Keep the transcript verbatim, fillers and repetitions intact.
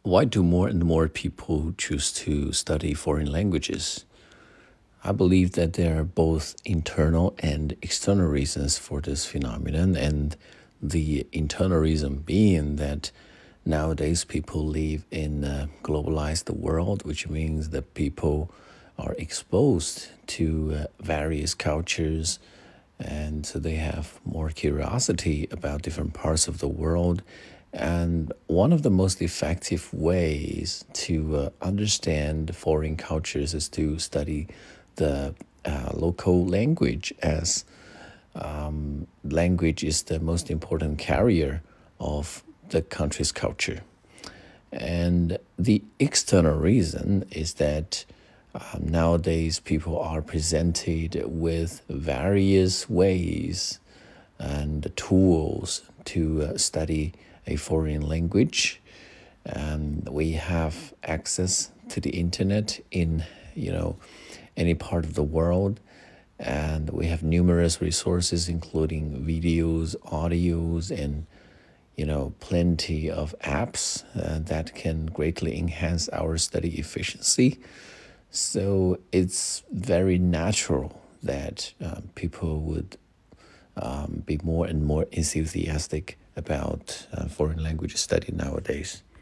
Why do more and more people choose to study foreign languages? I believe that there are both internal and external reasons for this phenomenon, and the internal reason being that nowadays people live in a globalized world, which means that people are exposed to uh, various cultures, and so they have more curiosity about different parts of the world. And one of the most effective ways to uh, understand foreign cultures is to study the uh, local language, as um, language is the most important carrier of the country's culture. And the external reason is that um, nowadays people are presented with various ways and tools to uh, study a foreign language. And we have access to the internet in, you know, any part of the world. And we have numerous resources, including videos, audios, and, you know, plenty of apps uh, that can greatly enhance our study efficiency. So it's very natural that um, people would um, be more and more enthusiastic about uh, foreign language study nowadays.